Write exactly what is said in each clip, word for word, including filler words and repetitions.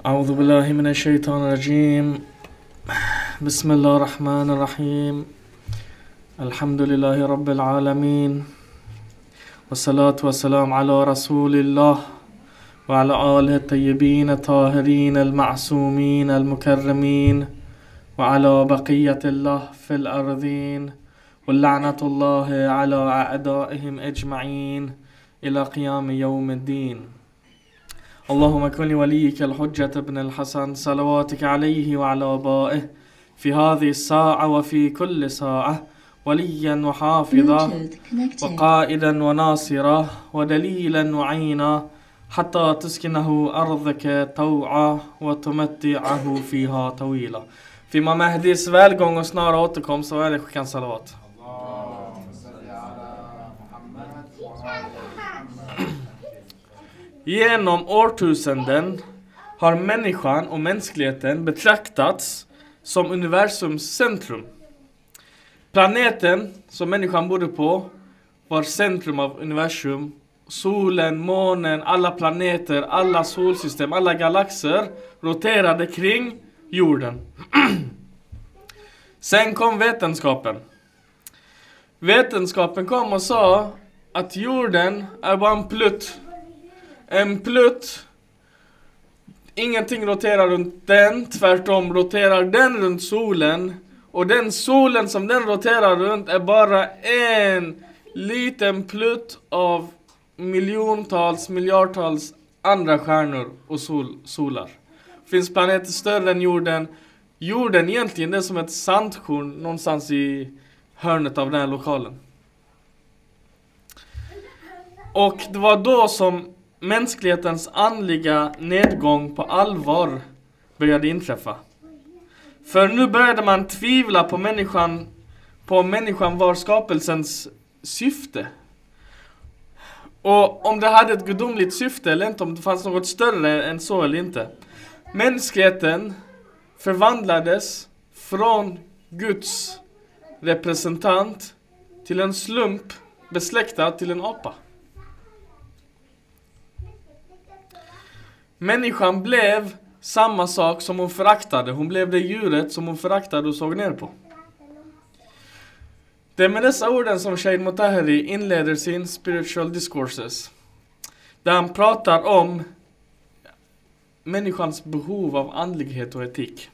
أعوذ بالله من الشيطان الرجيم. بسم الله الرحمن الرحيم. الحمد لله رب العالمين، والصلاة والسلام على رسول الله وعلى آله الطيبين الطاهرين المعصومين المكرمين وعلى بقية الله في الأرضين، واللعنة الله على أعدائهم أجمعين إلى قيام يوم الدين. اللهم كن لوليك الحجة ابن الحسن صلواتك عليه وعلى آبائه في هذه الساعة وفي كل ساعة وليا وحافظا وقائدا وناصرا ودليلا وعينا حتى تسكنه أرضك طوعا وتمتعه فيها طويلا. För Mahdis välgång och snara återkomst så är det skickan salawat. Genom årtusenden har människan och mänskligheten betraktats som universums centrum. Planeten som människan bodde på var centrum av universum. Solen, månen, alla planeter, alla solsystem, alla galaxer roterade kring jorden. Sen kom vetenskapen. Vetenskapen kom och sa att jorden är bara en plutt. En plutt. Ingenting roterar runt den. Tvärtom roterar den runt solen. Och den solen som den roterar runt är bara en liten plutt av miljontals, miljardtals andra stjärnor och sol, solar. Finns planeter större än jorden. Jorden egentligen är som ett sandkorn någonstans i hörnet av den här lokalen. Och det var då som mänsklighetens andliga nedgång på allvar började inträffa. För nu började man tvivla på människan, på om människan var skapelsens syfte. Och om det hade ett gudomligt syfte eller inte, om det fanns något större än så eller inte. Mänskligheten förvandlades från Guds representant till en slump besläktad till en apa. Människan blev samma sak som hon föraktade. Hon blev det djuret som hon föraktade och såg ner på. Det är med dessa orden som Shaykh Mutahari inleder sin Spiritual Discourses. Där han pratar om människans behov av andlighet och etik.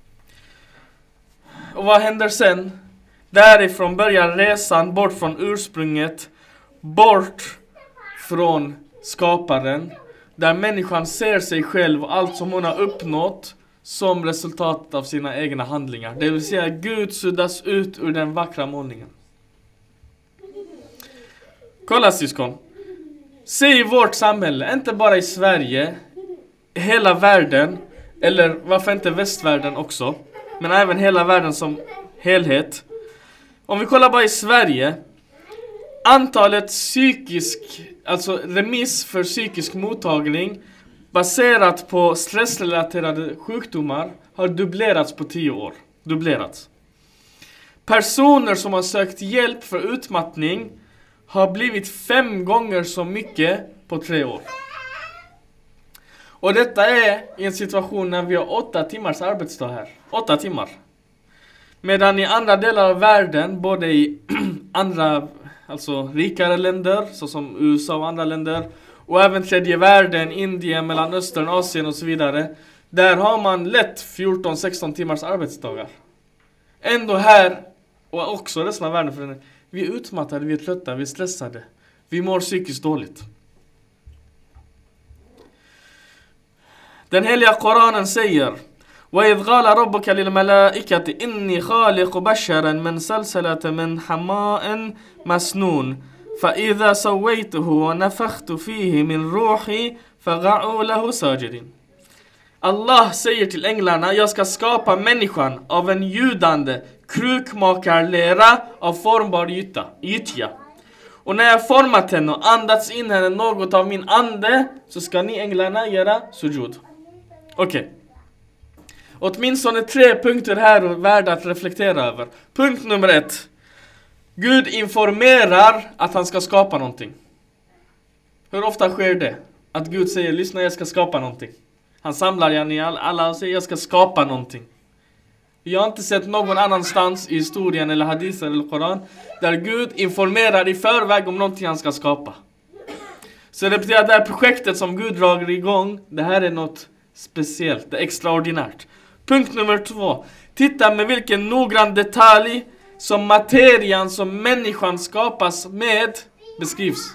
Och vad händer sen? Därifrån börjar resan bort från ursprunget, bort från skaparen. Där människan ser sig själv och allt som hon har uppnått som resultat av sina egna handlingar. Det vill säga Gud suddas ut ur den vackra målningen. Kolla syskon. Se i vårt samhälle, inte bara i Sverige, hela världen, eller varför inte västvärlden också, men även hela världen som helhet. Om vi kollar bara i Sverige, antalet psykisk, alltså remiss för psykisk mottagning baserat på stressrelaterade sjukdomar har dubblerats på tio år. Dubblerats. Personer som har sökt hjälp för utmattning har blivit fem gånger så mycket på tre år. Och detta är i en situation när vi har åtta timmars arbetsdag här. Åtta timmar. Medan i andra delar av världen, både i andra, alltså rikare länder, såsom U S A och andra länder, och även tredje världen, Indien, Mellanöstern, Asien och så vidare, där har man lätt fjorton sexton timmars arbetsdagar. Ändå här, och också resten av världen, för den, vi är utmattade, vi är trötta, vi är stressade. Vi mår psykiskt dåligt. Den heliga Koranen säger: وَإِذْ قَالَ رَبُّكَ لِلْمَلَائِكَةِ إِنِّي خَالِقُ بَشَرًا مِنْ سَلْسَلَةٍ مِنْ حَمَاءٍ مَسْنُونٍ فَإِذَا سَوَّيْتُهُ وَنَفَخْتُ فِيهِ مِنْ رُوحِي فَقَعُوا لَهُ سَاجِدِينَ. Allah säger till änglarna: jag ska skapa människan av en ljudande krukmakarlera av formbar gytta, gyttja. Och när jag format henne och andats in henne något av min ande, så ska ni änglarna göra sujud. Okej. Okay. Åtminstone tre punkter här är värda att reflektera över. Punkt nummer ett. Gud informerar att han ska skapa någonting. Hur ofta sker det? Att Gud säger: lyssna, jag ska skapa någonting. Han samlar yani alla och säger jag ska skapa någonting. Jag har inte sett någon annanstans i historien eller hadithen eller Koran där Gud informerar i förväg om någonting han ska skapa. Så det betyder att det här projektet som Gud drar igång, det här är något speciellt, det är extraordinärt. Punkt nummer två. Titta med vilken noggrann detalj som materian som människan skapas med beskrivs.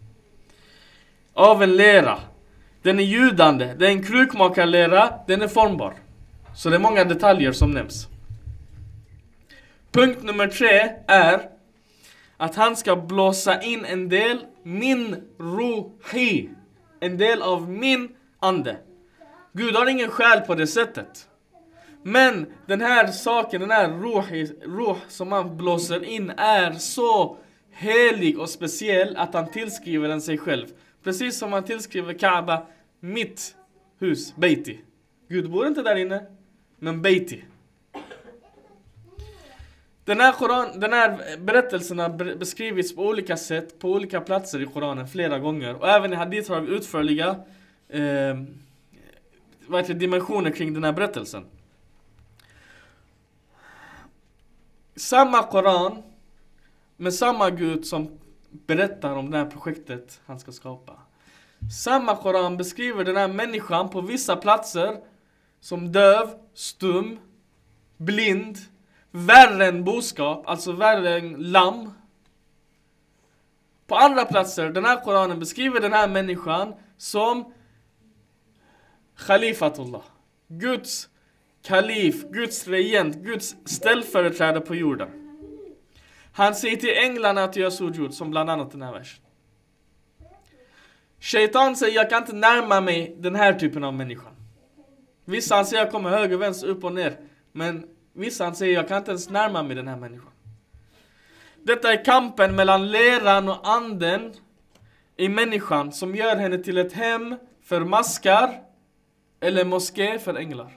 Av en lera. Den är ljudande, det är en krukmakarlera, den är formbar. Så det är många detaljer som nämns. Punkt nummer tre är att han ska blåsa in en del min ruhi. En del av min ande. Gud har ingen själ på det sättet. Men den här saken, den här ruhi, ruh som man blåser in är så helig och speciell att han tillskriver den sig själv. Precis som han tillskriver Kaaba mitt hus, Beiti. Gud bor inte där inne, men Beiti. Den här, Koran, den här berättelsen har beskrivits på olika sätt, på olika platser i Koranen flera gånger. Och även i hadith har vi utförliga eh, vad heter det, dimensioner kring den här berättelsen. Samma Koran med samma Gud som berättar om det här projektet han ska skapa. Samma Koran beskriver den här människan på vissa platser som döv, stum, blind, värre än boskap, alltså värre än lamm. På andra platser, den här Koranen beskriver den här människan som Khalifatullah, Guds kalif, Guds regent, Guds ställföreträdare på jorden. Han säger till änglarna att göra sujud, som bland annat den här versen. Shaitan säger, jag kan inte närma mig den här typen av människa. Vissa han säger, jag kommer höger, vänster, upp och ner. Men vissa han säger, jag kan inte ens närma mig den här människan. Detta är kampen mellan leran och anden i människan som gör henne till ett hem för maskar eller moské för änglar.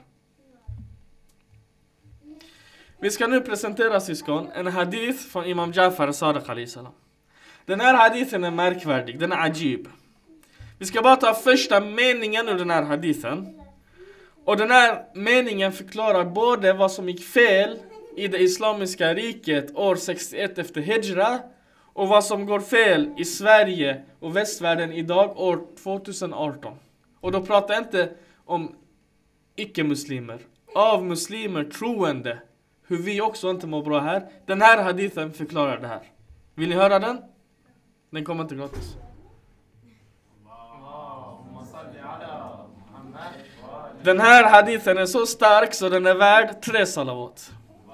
Vi ska nu presentera, syskon, en hadith från Imam Jafar Sadiq alayhi salam. Den här hadithen är märkvärdig, den är ajib. Vi ska bara ta första meningen ur den här hadithen. Och den här meningen förklarar både vad som gick fel i det islamiska riket år sextioett efter Hijra och vad som går fel i Sverige och västvärlden idag år tjugoarton. Och då pratar jag inte om icke-muslimer, av muslimer troende, hur vi också inte mår bra här. Den här hadithen förklarar det här. Vill ni höra den? Den kommer inte gratis. Den här hadithen är så stark så den är värd tre salawat.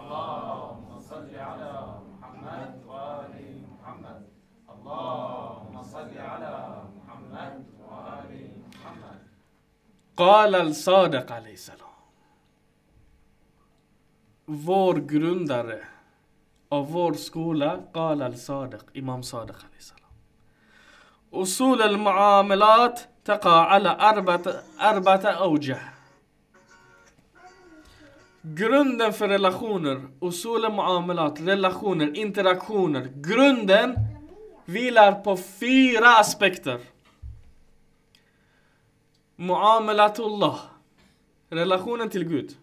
قال الصادق عليه السلام. Vår grundare av vår skola, قال الصادق, Imam Sadiq عليه السلام. أصول المعاملات تقع على أربعة أربعة أوجه. Grunden för relationer, usul muamalat, relationer, interaktioner, grunden vilar på fyra aspekter. Muamalatullah, relationen till Gud.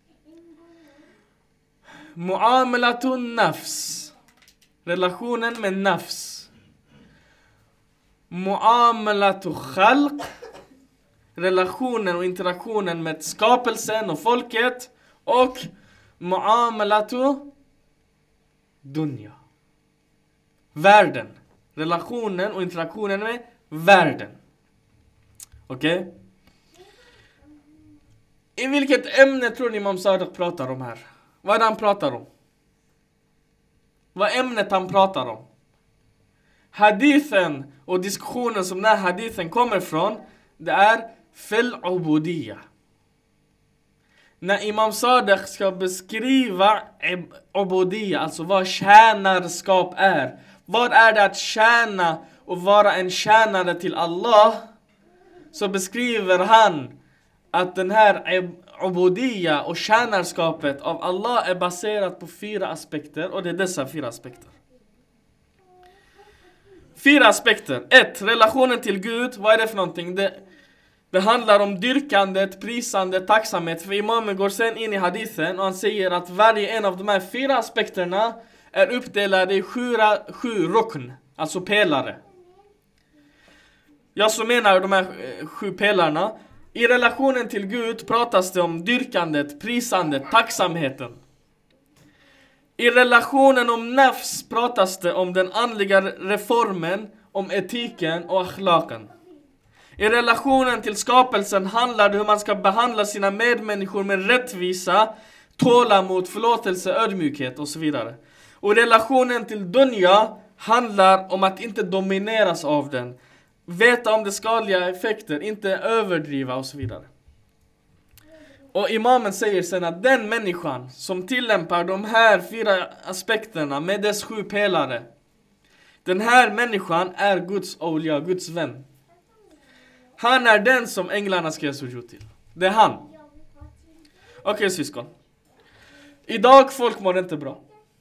Muamalatun nafs, relationen med nafs. Muamalatu khalq, relationen och interaktionen med skapelsen och folket. Och muamalatu dunya, världen, relationen och interaktionen med världen. Okej? Okay? I vilket ämne tror ni Imam Sadiq pratar om här? Vad är det han pratar om? Vad är ämnet han pratar om? Hadithen och diskussionen som den här hadithen kommer från, det är fil ubudiyya. När Imam Sadiq ska beskriva ubudiyya, alltså vad tjänarskap är. Vad är det att tjäna och vara en tjänare till Allah? Så beskriver han att den här ubudiyya och tjänarskapet av Allah är baserat på fyra aspekter. Och det är dessa fyra aspekter. Fyra aspekter. Ett, relationen till Gud. Vad är det för någonting? Det, det Det handlar om dyrkandet, prisandet, tacksamhet. För imamen går sen in i hadithen och han säger att varje en av de här fyra aspekterna är uppdelade i sju, sju rukn, alltså pelare. Jag så menar de här sju pelarna. I relationen till Gud pratas det om dyrkandet, prisandet, tacksamheten. I relationen om nafs pratas det om den andliga reformen, om etiken och akhlaken. I relationen till skapelsen handlar det om hur man ska behandla sina medmänniskor med rättvisa, tålamod, förlåtelse, ödmjukhet och så vidare. Och i relationen till dunya handlar om att inte domineras av den. Veta om de skadliga effekter, inte överdriva och så vidare. Och imamen säger sen att den människan som tillämpar de här fyra aspekterna med dess sju pelare, den här människan är Guds olja, Guds vän. Han är den som änglarna ska sujud till. Det är han. Okej, okay, syskon. Idag folk mår inte bra.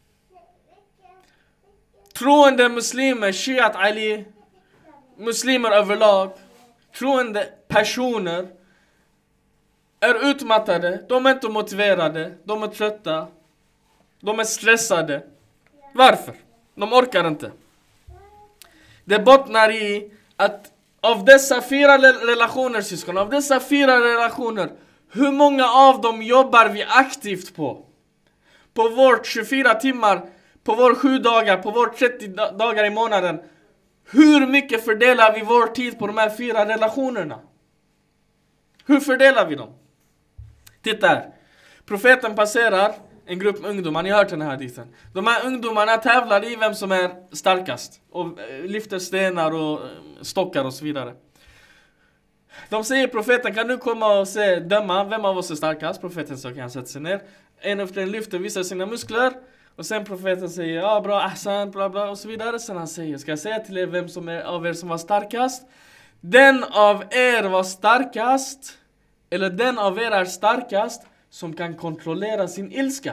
Troende muslimer, Shiat Ali, muslimer överlag, troende personer är utmattade, de är inte motiverade, de är trötta, de är stressade. Varför? De orkar inte. Det bottnar i att av dessa fyra relationer, syskon, av dessa fyra relationer, hur många av dem jobbar vi aktivt på? På vårt tjugofyra timmar, på vår sju dagar, på vår trettio dagar i månaden. Hur mycket fördelar vi vår tid på de här fyra relationerna? Hur fördelar vi dem? Titta här. Profeten passerar en grupp ungdomar. Ni har hört den här hadithen. De här ungdomarna tävlar i vem som är starkast. Och lyfter stenar och stockar och så vidare. De säger profeten, kan du komma och se, döma vem av oss är starkast? Profeten så kan han sätta sig ner. En efter en lyfter, visar sina muskler. Och sen profeten säger, ja bra, ahsan, bla bla och så vidare. Sen han säger, ska jag säga till er vem som är av er som var starkast? Den av er var starkast, eller den av er är starkast som kan kontrollera sin ilska.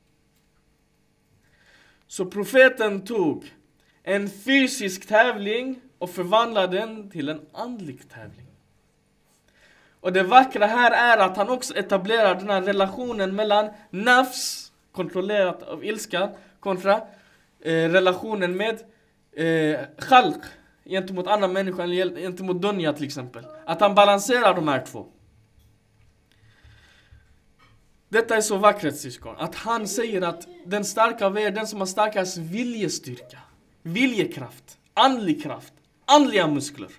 Så profeten tog en fysisk tävling och förvandlade den till en andlig tävling. Och det vackra här är att han också etablerar den här relationen mellan nafs, kontrollerat av ilska, kontra eh, relationen med eh, khalq, gentemot andra människor, eller gentemot dunya till exempel. Att han balanserar de här två. Detta är så vackert, syskon. Att han säger att den starka av er, den som har starkast viljestyrka, viljekraft, andlig kraft, andliga muskler.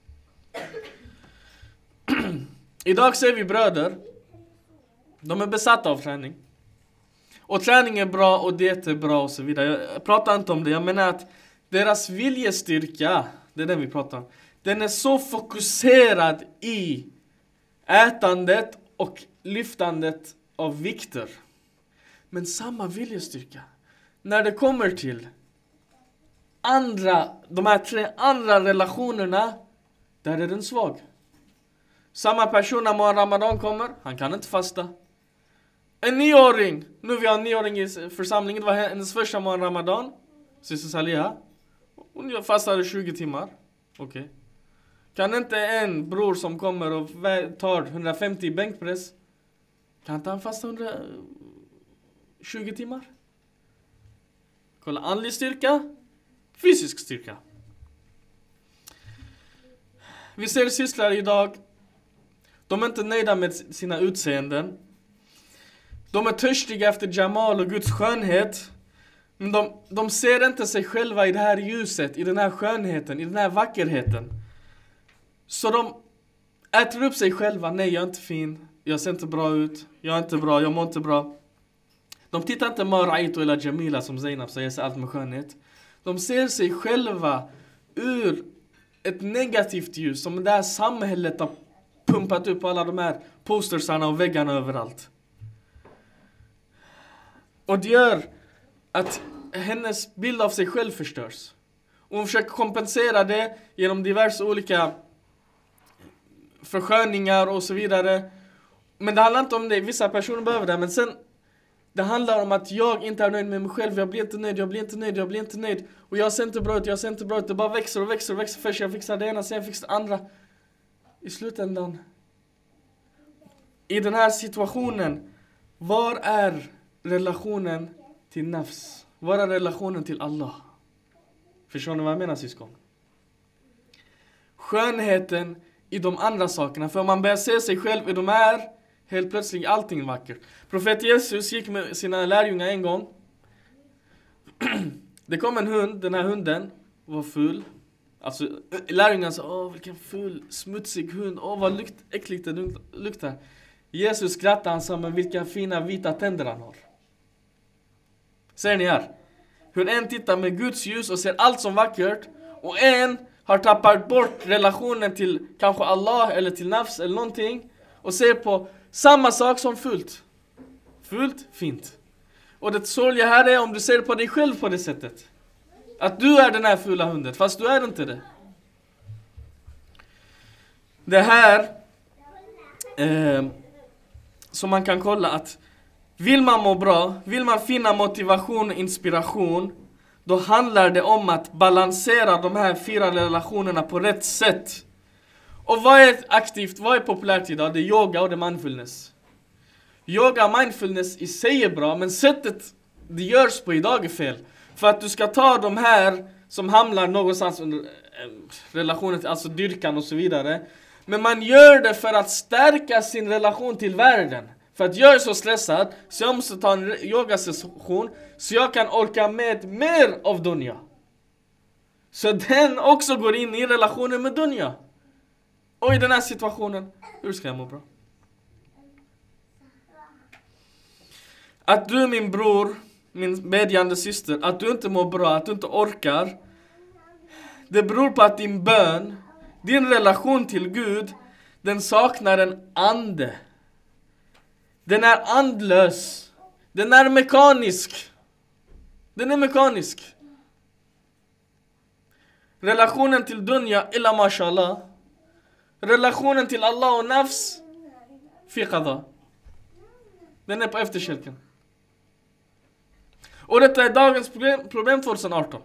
Idag ser vi bröder, de är besatta av träning. Och träning är bra och det är bra och så vidare. Jag pratar inte om det, jag menar att deras viljestyrka, det är den vi pratar om, den är så fokuserad i ätandet och lyftandet av vikter. Men samma viljestyrka, när det kommer till andra, de här tre andra relationerna, där är den svag. Samma person när Ramadan kommer, han kan inte fasta. En nioåring, nu vi har en nioåring i församlingen, det var hennes första månad Ramadan, syster Saliha. Hon fastade tjugo timmar. Okej. Okay. Kan inte en bror som kommer och tar hundrafemtio bänkpress, kan inte han fasta hundratjugo timmar? Kolla, andlig styrka, fysisk styrka. Vi ser systrar idag, de är inte nöjda med sina utseenden. De är törstiga efter Jamal och Guds skönhet. Men de, de ser inte sig själva i det här ljuset, i den här skönheten, i den här vackerheten. Så de äter upp sig själva. Nej, jag är inte fin. Jag ser inte bra ut. Jag är inte bra, jag mår inte bra. De tittar inte på Ra'ito eller Jamila som Zainab säger sig allt med skönhet. De ser sig själva ur ett negativt ljus som det här samhället har pumpat upp alla de här postersarna och väggarna överallt. Och det gör att hennes bild av sig själv förstörs. Och hon försöker kompensera det genom diverse olika försköningar och så vidare. Men det handlar inte om det. Vissa personer behöver det. Men sen, det handlar om att jag inte är nöjd med mig själv. Jag blir inte nöjd, jag blir inte nöjd, jag blir inte nöjd. Och jag ser inte bra ut, jag ser inte bra ut. Det bara växer och växer och växer. Först jag fixar det ena, sen jag fixar det andra. i slutändan, i den här situationen, var är relationen till nafs? Var är relationen till Allah? Förstår ni vad jag menar, syskon? Skönheten i de andra sakerna. För om man börjar se sig själv i de här, helt plötsligt allting vackert. Profet Jesus gick med sina lärjungar en gång. Det kom en hund, den här hunden var ful. Alltså lärjungarna sa, åh vilken ful, smutsig hund, åh vad lukt, äckligt det luktar. Jesus skrattade, han sa, men vilka fina vita tänder han har. Ser ni här? Hur en tittar med Guds ljus och ser allt som vackert, och en har tappat bort relationen till kanske Allah eller till nafs eller någonting, och ser på samma sak som fult. Fult, fint. Och det sorgliga här är om du ser på dig själv på det sättet. Att du är den här fula hunden, fast du är inte det. Det här eh, som man kan kolla att vill man må bra, vill man finna motivation och inspiration, då handlar det om att balansera de här fyra relationerna på rätt sätt. Och vad är aktivt, vad är populärt idag? Det är yoga och det är mindfulness. Yoga och mindfulness i sig är bra, men sättet det görs på idag är fel. För att du ska ta de här som hamnar någonstans under relationen till, alltså dyrkan och så vidare. Men man gör det för att stärka sin relation till världen. För att jag är så stressad så jag måste ta en yogasession så jag kan orka med mer av dunya. Så den också går in i relationen med dunya. Och i den här situationen, hur ska jag må bra? Att du, min bror, min bedjande syster, att du inte mår bra, att du inte orkar, det beror på att din bön, din relation till Gud, den saknar en ande. Den är andlös. Den är mekanisk. Den är mekanisk. Relationen till dunya, illa mashallah. Relationen till Allah och nafs, fi qada. Den är på efterkälken. Och detta är dagens problem, problem tjugoarton.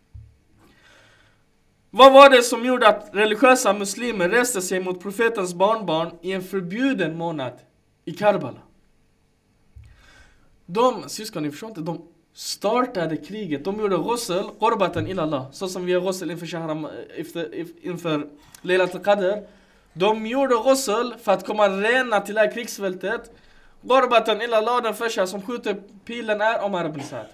Vad var det som gjorde att religiösa muslimer reste sig mot profetens barnbarn i en förbjuden månad i Karbala? De, syskon, ni förstår inte, de startade kriget. De gjorde ghusl, qurbatan ila Allah. Så som vi gör ghusl inför shahram, inför Laylat al-Qadr. De gjorde ghusl för att komma rena till det här krigsfältet. Qurbatan ila Allah, den första som skjuter pilen är Omar ibn Saad.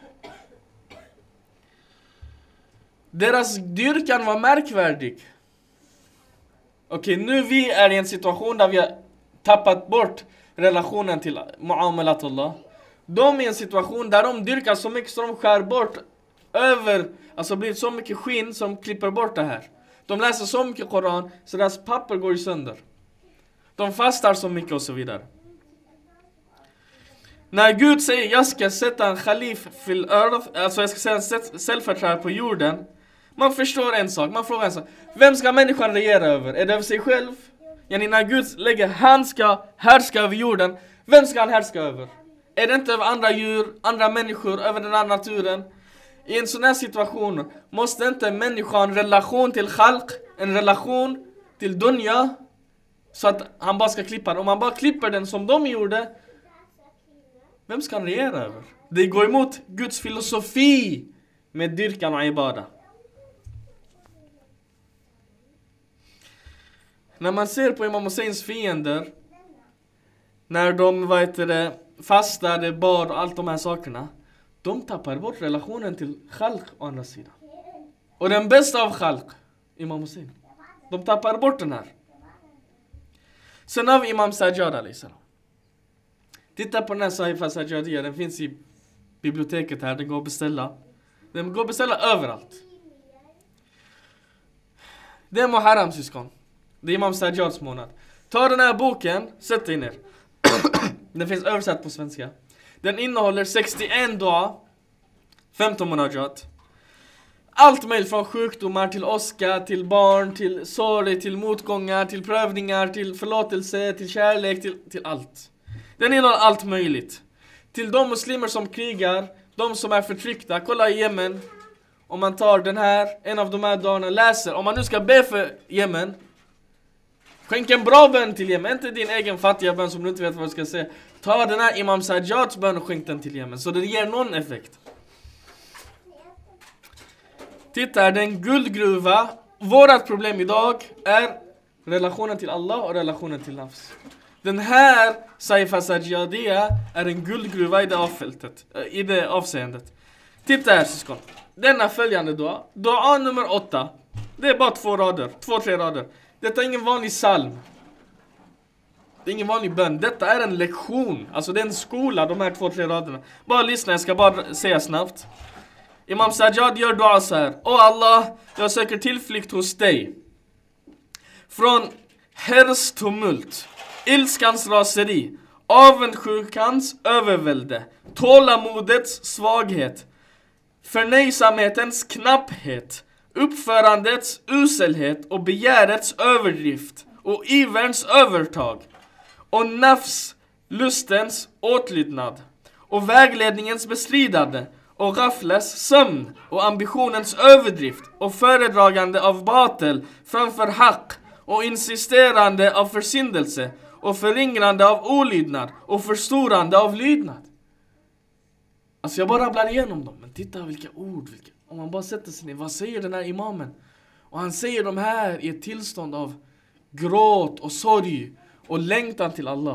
Deras dyrkan var märkvärdig. Okej, nu vi är i en situation där vi har tappat bort relationen till muamalatullah. De är i en situation där de dyrkar så mycket så de skär bort över, alltså blir så mycket skinn som klipper bort det här. De läser så mycket Koran så deras papper går i sönder. De fastar så mycket och så vidare. När Gud säger jag ska sätta en khalif fil earth, alltså jag ska sätta en ställföreträdare på jorden, man förstår en sak, man frågar en sak. Vem ska människan regera över? Är det över sig själv? Yani när Gud lägger, han ska härska över jorden, vem ska han härska över? Är det inte över andra djur, andra människor, över den här naturen? I en sån här situation måste inte människan ha en relation till khalq, en relation till dunya, så att han bara ska klippa den. Om man bara klipper den som de gjorde, vem ska han regera över? Det går emot Guds filosofi med dyrkan och ibada. När man ser på Imam Husseins fiender, när de vad heter det, fastade, bad och allt de här sakerna, de tappar bort relationen till khalq å andra sidan. Och den bästa av khalq, Imam Hussein, de tappar bort den här. Sen har vi Imam Sajjad alayhisalam. Titta på den här Sahifa Sajjadiyya, den finns i biblioteket här, den går att beställa. Den går att beställa överallt. Det är Muharram, syskon. Det är Imam Sajjads månad. Ta den här boken, sätt dig ner. Den finns översatt på svenska. Den innehåller sextioen dua, femton munajat. Allt möjligt från sjukdomar till åska, till barn, till sorg, till motgångar, till prövningar, till förlåtelse, till kärlek, till, till allt. Den innehåller allt möjligt. Till de muslimer som krigar, de som är förtryckta. Kolla i Yemen. Om man tar den här, en av de här dagarna, läser. Om man nu ska be för Yemen, Skänk en bra bön till Yemen, inte din egen fattiga bön som du inte vet vad du ska säga. Ta den här Imam Sajjads bön och skänk den till Yemen, så det ger någon effekt. Titta här, det är en guldgruva. Vårat problem idag är relationen till Allah och relationen till nafs. Den här Saifa Sajjadia är en guldgruva i det avfältet, i det avseendet. Titta här syskon. Denna följande dua, dua nummer åtta. Det är bara två rader, två, tre rader. Detta är ingen vanlig psalm. Det är ingen vanlig bön. Detta är en lektion. Alltså det är en skola, de här två, tre raderna. Bara lyssna, jag ska bara säga snabbt. Imam Sajjad gör dua så här. Åh Allah, jag söker tillflykt hos dig från herrs tumult, ilskans raseri, avundsjukans övervälde, tålamodets svaghet, förnöjsamhetens knapphet, uppförandets uselhet och begärets överdrift och iverns övertag och nafs lustens åtlydnad och vägledningens bestridande och gafles sömn och ambitionens överdrift och föredragande av batel framför haq och insisterande av försyndelse och förringrande av olydnad och förstorande av lydnad. Alltså jag bara rabblar igenom dem, men titta vilka ord, vilka, om man bara sätter sig ner, vad säger den här imamen? Och han säger de här i ett tillstånd av gråt och sorg och längtan till Allah.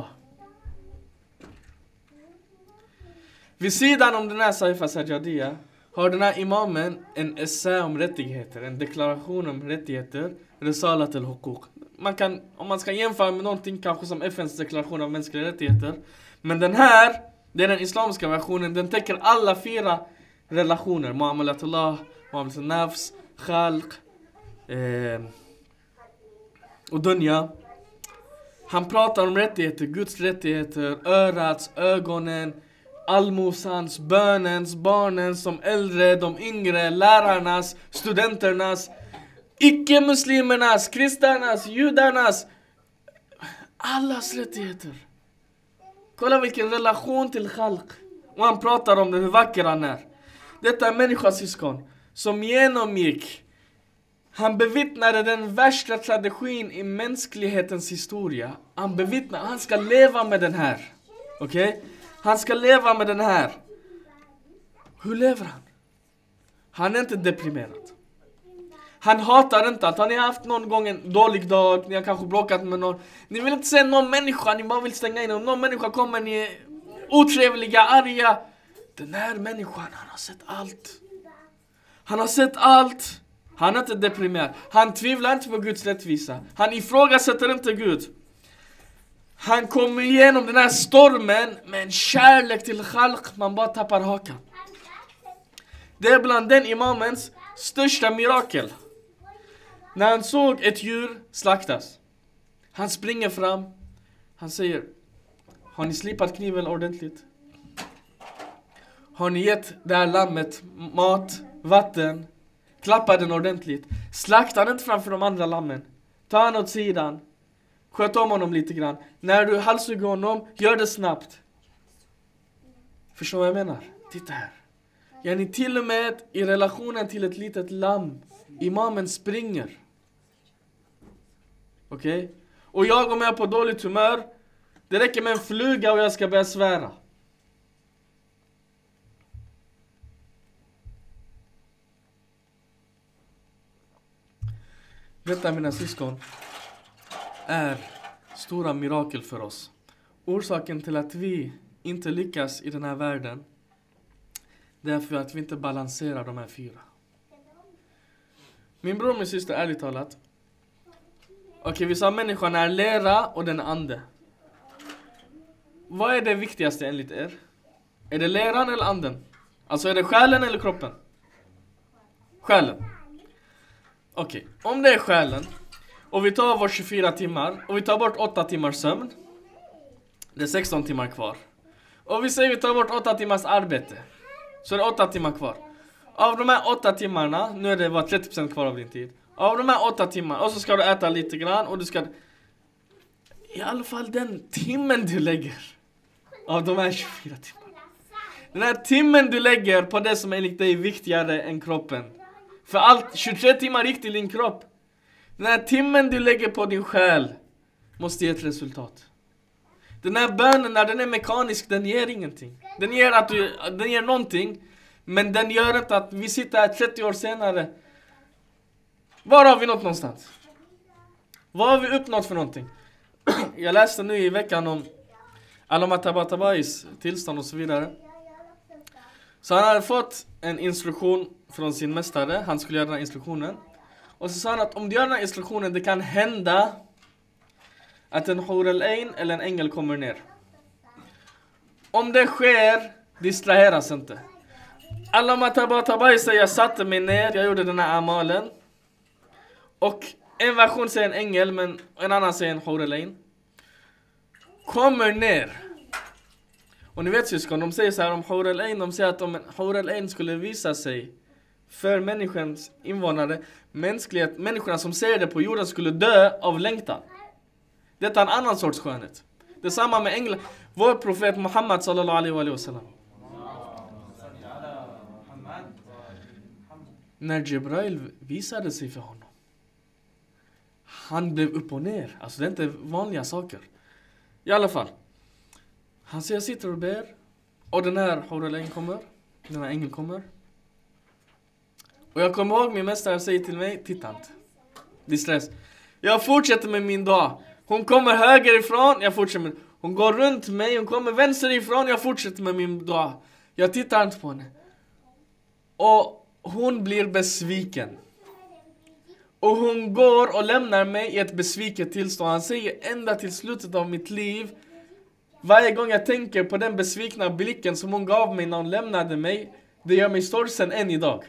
Vid sidan om den här Saifa Sajjadia har den här imamen en essä om rättigheter, en deklaration om rättigheter, Risalat al-Huquq. Man kan, om man ska jämföra med någonting kanske som F N:s deklaration av mänskliga rättigheter. Men den här, det är den islamiska versionen, den täcker alla fyra relationer. Muamalatullah, Muamalat al-Nafs, Khalq eh, och Dunya. Han pratar om rättigheter, Guds rättigheter, örats, ögonen, allmosans, bönens, barnens, som äldre, de yngre, lärarnas, studenternas, icke-muslimernas, kristernas, judarnas, allas rättigheter. Kolla vilken relation till Khalq. Och han pratar om det, hur vacker han är. Detta är människosyskon som genomgick, han bevittnade den värsta tragedin i mänsklighetens historia. Han bevittnar, han ska leva med den här. Okej? Okay? Han ska leva med den här. Hur lever han? Han är inte deprimerad. Han hatar inte att han har haft någon gång en dålig dag. Ni har kanske bråkat med någon. Ni vill inte se någon människa. Ni bara vill stänga in. Om någon människa kommer, ni är otrevliga, arga. Den här människan, han har sett allt. Han har sett allt. Han är inte deprimerad. Han tvivlar inte på Guds rättvisa. Han ifrågasätter inte Gud. Han kommer igenom den här stormen med en kärlek till Khalq. Man bara tappar hakan. Det är bland den imamens största mirakel. När han såg ett djur slaktas, han springer fram. Han säger: har ni slipat kniven ordentligt? Har ni gett det här lammet mat, vatten? Klappar den ordentligt? Slakta den inte framför de andra lammen. Ta han åt sidan. Sköt om honom lite grann. När du halshugger honom, gör det snabbt. Förstår vad jag menar? Titta här. Ja, ni till och med i relationen till ett litet lamm. Imamen springer. Okej? Okay? Och jag, om jag är på dåligt humör, det räcker med en fluga och jag ska börja svära. Detta, mina syskon, är stora mirakel för oss. Orsaken till att vi inte lyckas i den här världen, det är för att vi inte balanserar de här fyra. Min bror och min syster, ärligt talat. Okej, okay, vi sa människan är lera och den är ande. Vad är det viktigaste enligt er? Är det leran eller anden? Alltså är det själen eller kroppen? Själen. Okej, okay. Om det är själen och vi tar vår tjugofyra timmar och vi tar bort åtta timmars sömn, det är sexton timmar kvar. Och vi säger vi tar bort åtta timmars arbete, så är det åtta timmar kvar. Av de här åtta timmarna, nu är det bara trettio procent kvar av din tid. Av de här åtta timmar, och så ska du äta lite grann och du ska, i alla fall den timmen du lägger av de här tjugofyra timmarna. Den här timmen du lägger på det som enligt dig är viktigare än kroppen. För allt, tjugotre timmar gick till din kropp. Den här timmen du lägger på din själ, måste ge ett resultat. Den här bönen, när den är mekanisk, den ger ingenting. Den ger, att du, den ger någonting, men den gör inte att vi sitter här trettio år senare. Var har vi nått någonstans? Vad har vi uppnått för någonting? Jag läste nu i veckan om Allama Tabatabais tillstånd och så vidare. Så han hade fått en instruktion från sin mästare. Han skulle göra den här instruktionen. Och så sa han att om du gör den här instruktionen, det kan hända att en hur al-ain eller en ängel kommer ner. Om det sker, distraheras inte. Allama Tabatabai säger, jag satte mig ner, jag gjorde den här amalen. Och en version säger en ängel, men en annan säger en hur al-ain. Kommer ner. Och ni vet syskon, de säger så här om hur al-ain, de säger att om en hur al-ain skulle visa sig för människans invånare, mänsklighet, människorna som ser det på jorden skulle dö av längtan. Detta är en annan sorts skönhet. Det är samma med änglar. Vår profet Muhammad sallallahu alaihi wa sallam. När Jibrail visade sig för honom, han blev upp och ner. Alltså det är inte vanliga saker. I alla fall. Han säger, jag sitter och ber. Och den här hur al-ain kommer. Den här ängeln kommer. Och jag kommer ihåg min mästare säger till mig, titta inte. Det är stress. Jag fortsätter med min dag. Hon kommer höger ifrån, jag fortsätter med. Hon går runt mig, hon kommer vänster ifrån, jag fortsätter med min dag. Jag tittar inte på henne. Och hon blir besviken. Och hon går och lämnar mig i ett besviket tillstånd. Han säger, ända till slutet av mitt liv, varje gång jag tänker på den besvikna blicken som hon gav mig när hon lämnade mig, det gör mig sorgsen än idag.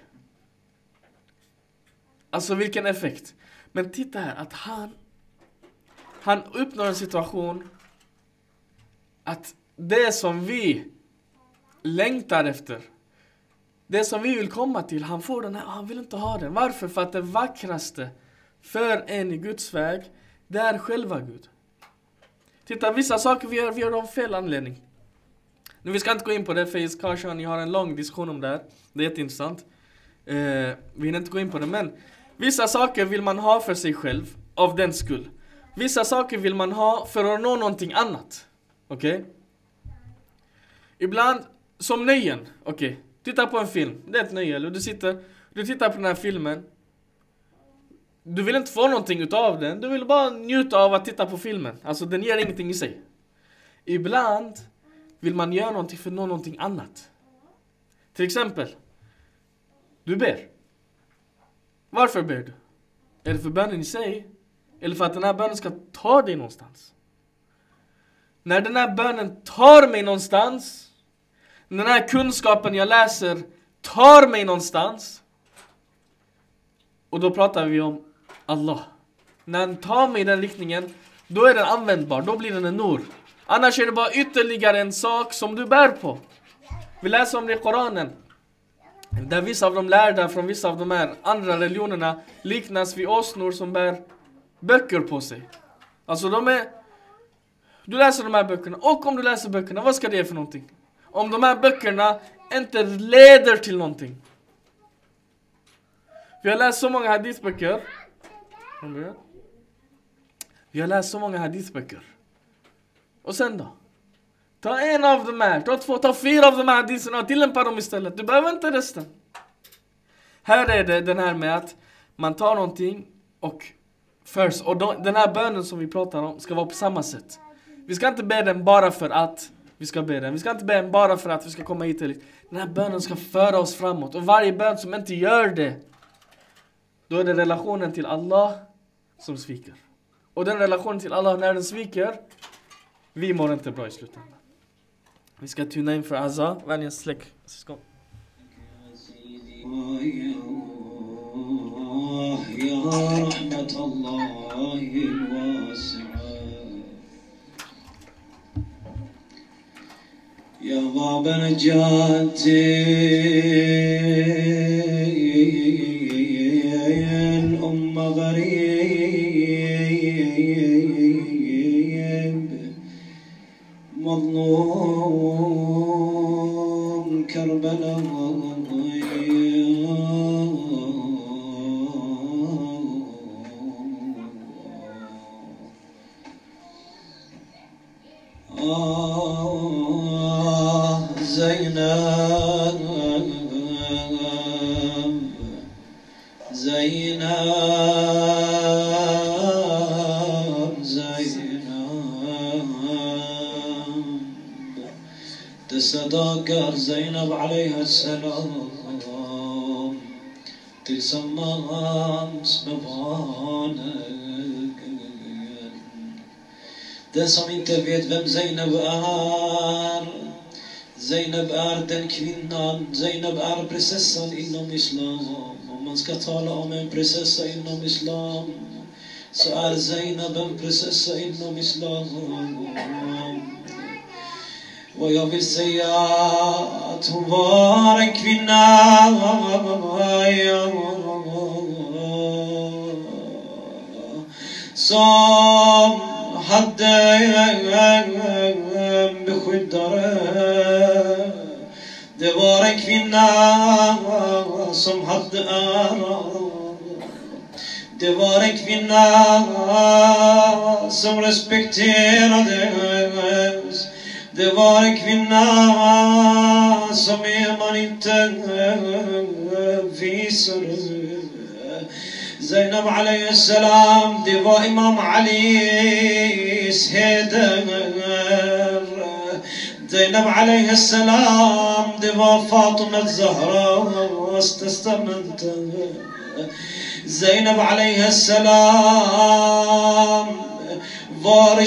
Alltså vilken effekt. Men titta här, att han Han uppnår en situation att det som vi längtar efter, det som vi vill komma till, han får den här, han vill inte ha den. Varför? För att det vackraste för en i Guds väg, det är själva Gud. Titta, vissa saker vi gör, vi gör av fel anledning. Nu vi ska inte gå in på det, för kanske ni har en lång diskussion om det här. Det är jätteintressant. Eh, vi hinner inte gå in på det, men vissa saker vill man ha för sig själv, av den skull. Vissa saker vill man ha för att nå någonting annat. Okej? Okay? Ibland, som nöjen. Okej, okay. Titta på en film. Det är ett nöje. Eller du, sitter, du tittar på den här filmen. Du vill inte få någonting utav den. Du vill bara njuta av att titta på filmen. Alltså den ger ingenting i sig. Ibland vill man göra någonting för att nå någonting annat. Till exempel. Du ber. Varför ber du? Är det för bönen i sig? Eller för att den här bönen ska ta dig någonstans? När den här bönen tar mig någonstans, den här kunskapen jag läser tar mig någonstans, och då pratar vi om Allah. När den tar mig i den riktningen, då är den användbar, då blir den en nur. Annars är det bara ytterligare en sak som du bär på. Vi läser om det i Koranen, där vissa av de lärda från vissa av de här andra religionerna liknas vid åsnor som bär böcker på sig. Alltså de är, du läser de här böckerna, och om du läser böckerna, vad ska det ge för någonting? Om de här böckerna inte leder till någonting. Vi har läst så många hadithböcker. Vi har läst så många hadithböcker. Och sen då? Ta en av dem här, ta två, ta fyra av de här haditherna och tillämpa dem istället. Du behöver inte resten. Här är det den här med att man tar någonting och först, och då, den här bönen som vi pratar om ska vara på samma sätt. Vi ska inte be den bara för att vi ska be den. Vi ska inte be den bara för att vi ska komma hit. Den här bönen ska föra oss framåt. Och varje bön som inte gör det, då är det relationen till Allah som sviker. Och den relationen till Allah, när den sviker, vi mår inte bra i slutändan. Vi ska tuna in för Azza. Vänligen släck syskon. يا رحمة الله الواسعة يا باب نجاتي الأمة غريب مظلوم كربلاء زينب زينب زينب تصدقر زينب عليها السلام تسمى سبحانك. Den som inte vet vem Zainab är, Zainab är den kvinnan, Zainab är prinsessan inom islam. Om man ska tala om en prinsessa inom islam så är Zainab en prinsessa inom islam. Och jag vill säga att hon var en kvinna som hade beskyddare. Det var en kvinna som hade ära. Det var en kvinna som respekterades. Det var en kvinna som är man inte visade. Zainab alayhi salam, det var Imam Alis heder. Zainab alayhi salam, det var Fatima Zahras testamente. Zainab alayhi salam var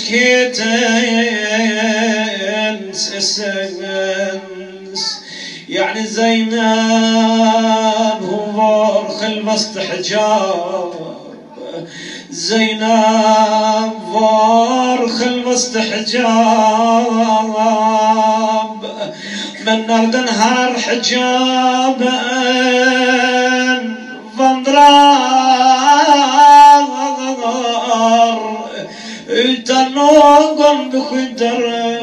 kyskhetens essens. يعني زينب هو خلفست حجاب. زينب var خلفست حجاب. Men när den här hijaben vandrar utan någon beskyddare.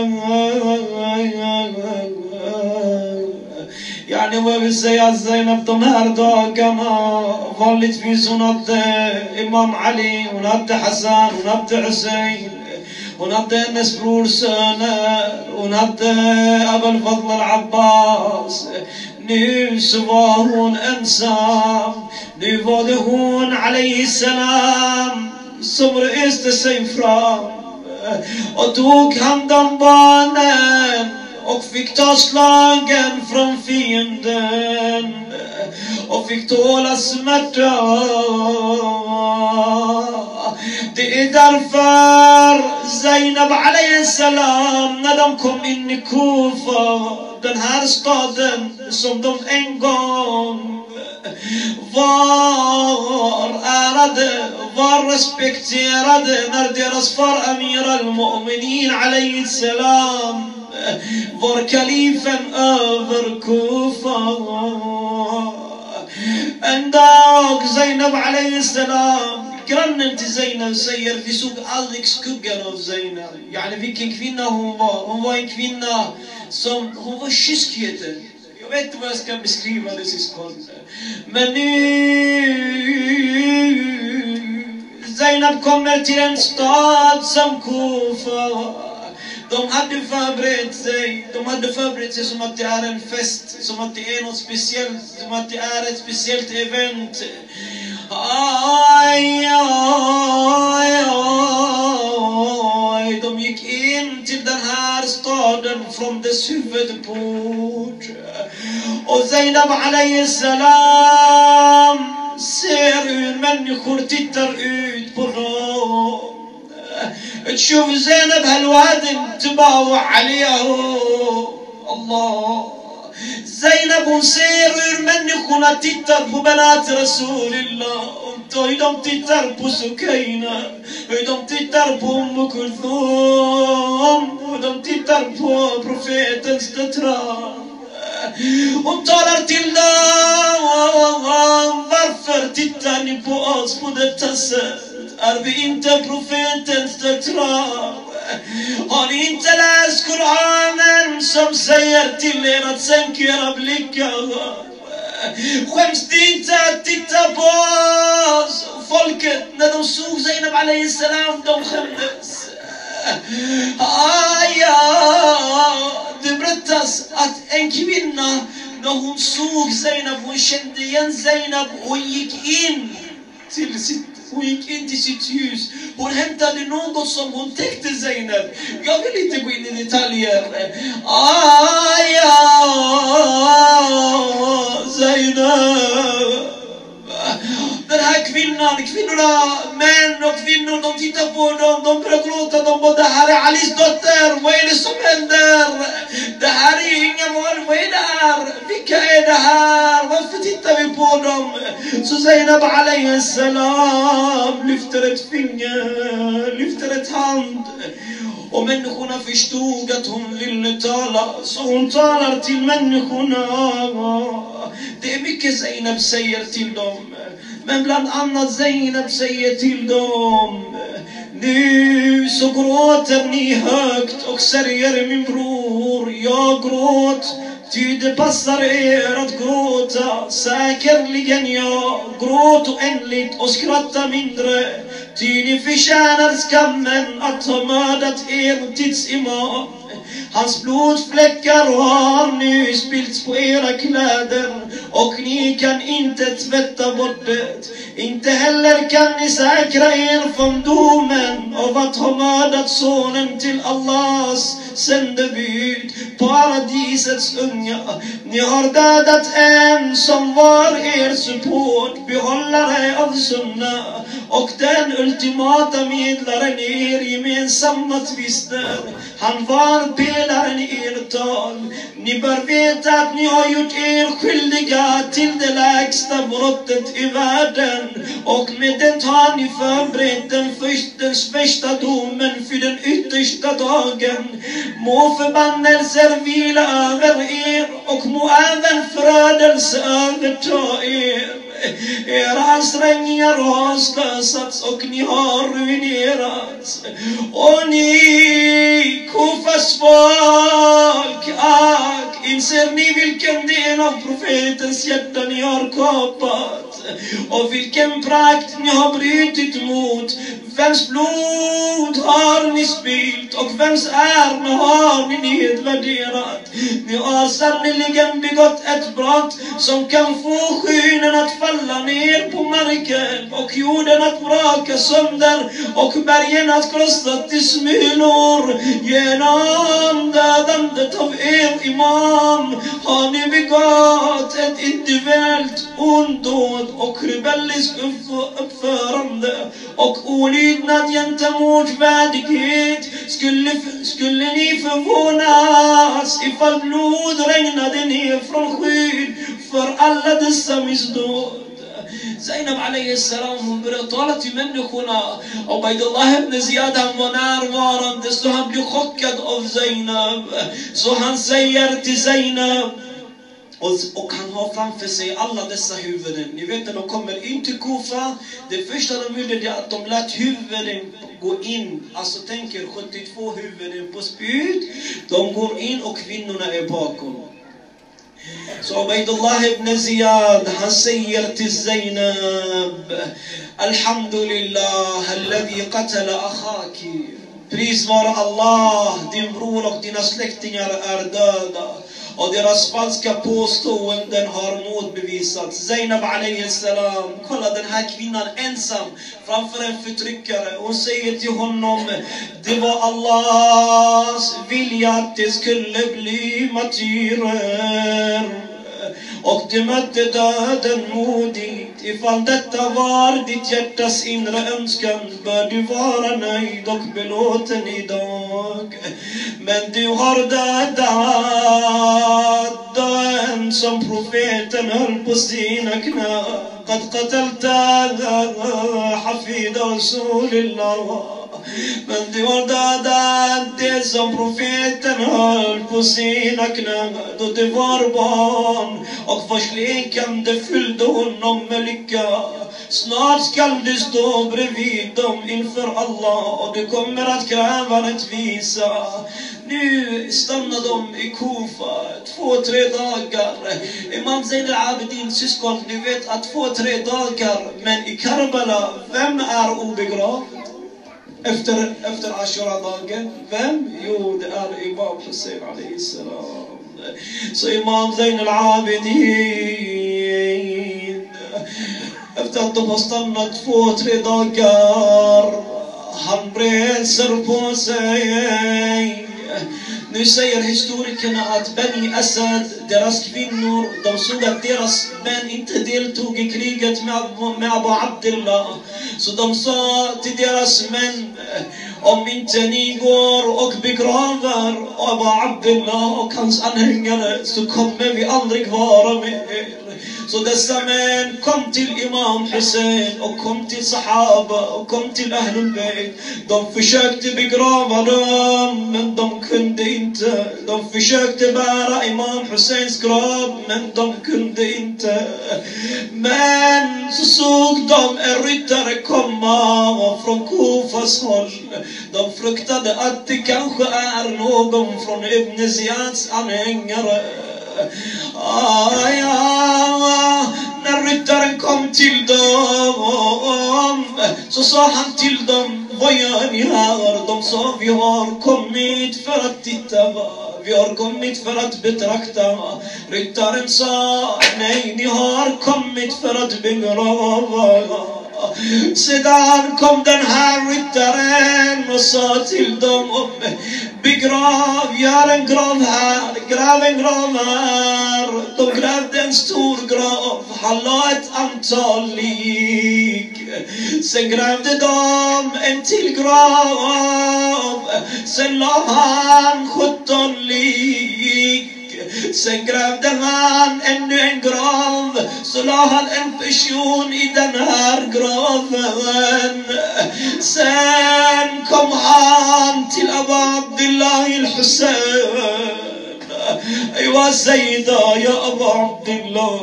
Yani vad jag vill säga att Zainab de här dagarna vanligtvis hon hade Imam Ali, hon hade Hassan, hon hade Hussein, hon hade hennes brorsöner, hon hade Abul Fadl al-Abbas. Nu så var hon ensam. Nu var det hon alayhi salam som reste sig fram och tog hand om barnen och fick ta slagen från fienden och fick tåla smärta. Det är därför Zainab alayhi salam, när de kom in i Kufa, den här staden som de en gång var ärade, var respekterade, när deras far Amir al-Mu'minin alayhi salam var kalifen över Kufa. En dag Zainab alayhi salam, grannen till Zainab säger, vi såg aldrig skuggan av Zainab. Yani vilken kvinna hon var. Hon var en kvinna som, hon var kyskheten. Jag vet inte vad jag ska beskriva det syskon. Men nu Zainab kommer till en stad som Kufa. De hade förberett sig, de hade förberett sig som att det är en fest, som att det är något speciellt, som att det är ett speciellt event. Aj, aj, aj. De gick in till den här staden från dess huvudport. Och Zainab alayhi salam ser hur människor tittar ut på dem. تشوف زينب هالواد انتبهوا عليها الله. زينب ونسير människorna tittar på benat Rasulillah. Och hur de tittar på Sukaina, hur de tittar på Umm Kulthum, hur de tittar på profetens döttrar. Hon talar till dem, varför tittar ni på oss på detta sätt? Är vi inte profetens döttrar? Har ni inte läst Koranen som säger till er att sänka era blickar? Skäms ni inte att titta på oss? Folket, när de såg Zainab alayhi salam, de skämdes. Ah, ja, det berättas att en kvinna, när hon såg Zainab, hon kände igen Zainab, hon gick in till sitt Hon gick in till sitt hus. Hon hämtade något som hon täckte Zainab. Jag vill inte gå in i detaljer. Ah, ja, Zainab. Den här kvinnan, kvinnorna, män och kvinnor, de tittar på dem, de börjar gråta, de bara, det här är Alis dotter, vad är det som händer? Det här är ju inga val, vad är det här? Vilka är det här? Varför tittar vi på dem? Så Zainab alayhi salam lyfter ett finger, lyfter ett hand. Och människorna förstod att hon ville tala, så hon talar till människorna. Det är mycket Zainab säger till dem, men bland annat Zainab säger till dem: nu så gråter ni högt och sörjer min bror. Jag gråt, ty det passar er att gråta. Säkerligen jag gråt oändligt och skratta mindre, ty ni förtjänar skammen att ha mördat er tidsimam. Hans blodfläckar har nu spillts på era kläder, och ni kan inte tvätta bort det. Inte heller kan ni säkra er från domen av att ha mördat sonen till Allahs sändebud, paradisets unga. Ni har dödat en som var er support, behållare av sunna, och den ultimata medlaren i er gemensamma tvister. Han var pelaren i er tal. Ni bör veta att ni har gjort er skyldiga till det lägsta brottet i världen, och med det har ni förberett den första, första domen för den yttersta dagen. Må förbannelser vila över er, och må även förödelse överta er. Era ansträngningar har slösats och ni har ruinerats. Och ni, Kufas folk, ack, inser ni vilken del av profetens hjärta ni har kapat, och vilken prakt ni har brutit mot? Vems blod har ni spilt, och vems ära har ni nedvärderat? Ni har sannoliken begått ett brott som kan få skynen att falla ner på marken, och jorden att braka sönder, och bergen att krossa till smulor. Genom dödandet av er imam har ni begått ett individuellt ondåd och rebellisk uppförande och olydnad gentemot värdighet. Skulle, skulle ni förvånas ifall blod regnade ner från skydd för alla dessa missdåd? Zainab alayhi salam, hon började tala till människorna. Ubaydullah ibn Ziyad, han var närvarande, så han blev chockad av Zainab. Så han säger till Zainab, och, och han har framför sig alla dessa huvuden. Ni vet när de kommer in till Kufa, det första de gjorde är att de lät huvuden gå in. Alltså tänker sjuttiotvå huvuden på spyd. De går in och kvinnorna är bakom. Så Ubaydullah ibn Ziyad, han säger till Zainab: Alhamdulillah, alladhi qatala akhaki. Pris vare Allah, din bror och dina släktingar är döda, och deras falska påståenden har motbevisats. Zainab alayhi salam, kolla den här kvinnan ensam framför en förtryckare. Hon säger till honom: det var Allahs vilja att det skulle bli martyrer, och du mötte döden modigt. Ifall detta var ditt hjärtas inre önskan, bör du vara nöjd och belåten idag. Men du har dödat den som profeten höll på sina knä. قد قتلت حفيد رسول الله. Men du har dödat det som profeten höll på sina knän då det var barn, och förslekande fyllde honom med lycka. Snart skall du stå bredvid dem inför Allah, och du kommer att kräva rättvisa. Nu stannar de i Kufa två, tre dagar. Imam Zain al-Abidin, syskon, ni vet att två, tre dagar. Men i Karbala, vem är obegravd? efter, efter Ashura-dagen. Vem? Jo, det är Imam Hussein alayhi salam. Så Imam Zain al-Abidin, efter att de har stannat två, tre dagar, han reser på sig. Nu säger historikerna att Bani Asad, deras kvinnor, de såg att deras män inte deltog i kriget med, med Abu Abdullah. Så de sa till deras män, om inte ni går och begraver Abu Abdullah och hans anhängare så kommer vi aldrig vara med er. Så dessa män kom till Imam Hussein och kom till Sahaba och kom till Ahlul Bayt. De försökte begrava dem, men de kunde inte. De försökte bära Imam Husseins grav, men de kunde inte. Men så såg de en ryttare komma från Kufas håll. De fruktade att det kanske är någon från Ibn Ziyads anhängare. Ah, ja. När ryttaren kom till dem så sa han till dem, vad gör ni här? De sa, vi har kommit för att titta, vi har kommit för att betrakta. Ryttaren sa, nej, ni har kommit för att begrava. Sedan kom den här ryttaren och sa till dem, begrav, gör en grav här, gräv en grav här. De grävde en stor grav, han la ett antal lik. Sen grävde de en till grav, sen la han sjutton lik. Sen grävde han ännu en grav, så la han en person i den här graven. Sen kom han till Abu Abdullah al-Hussein. أيوة سيدة يا أبا عبد الله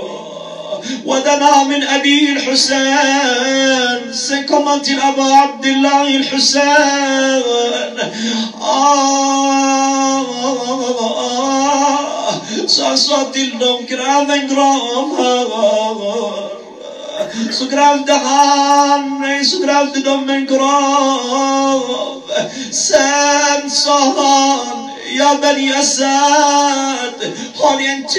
ودنا من أبي الحسين. Sen kom han till Abu Abdullah al-Hussein. Så han sa till dem, gräv en grav här. Så grävde han, nej, så grävde de en grav. Sen sa han, ja Bani Asad, har ni en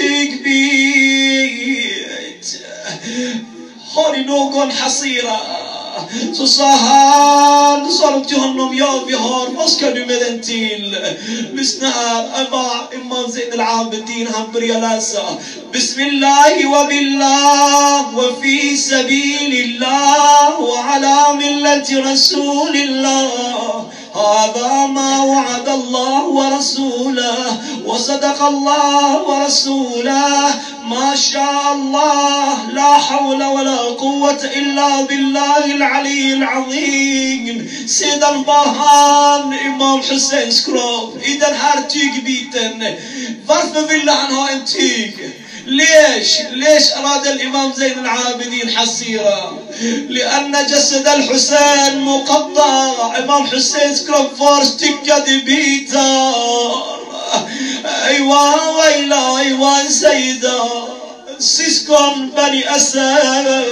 tygbit? Har ni någon hasira? Så sa han, sa de till honom, ja vi har, vad ska du med den till? Lyssna här, Imam Zain al-Abidin, han börjar läsa. Bismillahi wa billah wa fi sabilillah wa ala millati rasulillah. هذا ما وعد الله ورسوله وصدق الله ورسوله ما شاء الله لا حول ولا قوة إلا بالله العلي العظيم. Sedan var han Imam Husseins grav i den här tygbiten. Varför ville han ha en tyg? ليش ليش أراد الإمام زين العابدين حسيرة؟ لأن جسد الحسين مقطع. إمام حسين سكرب فارس تكاد بيتار. أيوة ويلا أيوة سيدة سيسكن بني أسد.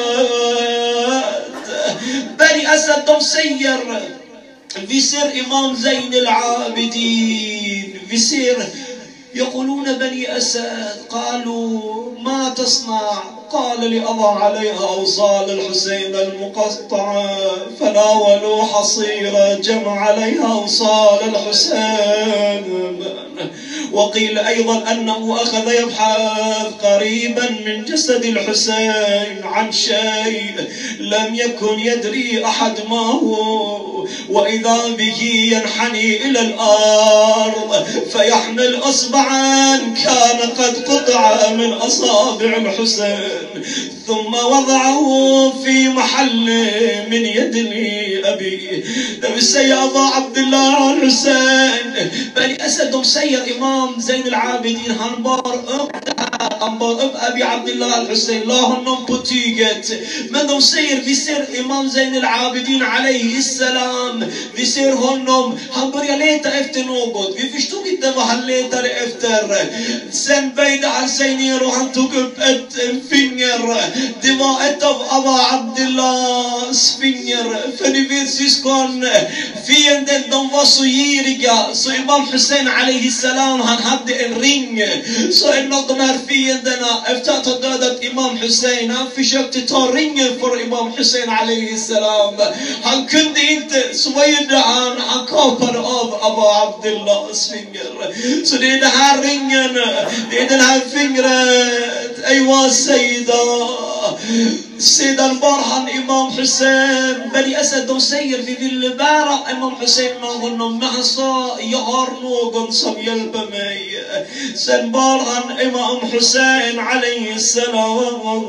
بني أسد دم سير بيصير إمام زين العابدين بيصير. يقولون بني أسد قالوا ما تصنع؟ قال لأضع عليها أوصال الحسين المقطعة. فناولوا حصيرة جمع عليها أوصال الحسين. وقيل أيضا أنه أخذ يبحث قريبا من جسد الحسين عن شيء لم يكن يدري أحد ما هو، وإذا به ينحني إلى الأرض فيحمل أصبعا كان قد قطع من أصابع الحسين ثم وضعه في محل من يد أبي. نبي أبا عبد الله الحسين بني أسد مسير إمام زين العابدين هنبار أنبار أب أبي عبد الله الحسين لاهنم بطيقت من مسير بيصير إمام زين العابدين عليه السلام han. Vi ser honom, han börjar leta efter något. Vi förstod inte vad han letade efter. Sen böjde han sig ner och han tog upp ett finger. Det var ett av Aba Abdillahs finger. För ni vet syskon, fienden de var så giriga. Så Imam Hussein alaihi salam, han hade en ring. Så en av de här fienderna, efter att ha dödat Imam Hussein, han försökte ta ringen för Imam Hussein alaihi salam. Han kunde inte, så vad gjorde han? Han kapade av Aba Abdillahs finger. Så det är den här ringen, det är den här fingret. Aywa Sayyida. Sedan bar han Imam Hussein. Bani Asad, de säger vi vill bära Imam Hussein med honom. Men han sa, jag har någon som hjälper mig. Sen bar han Imam Hussein alaihi salam.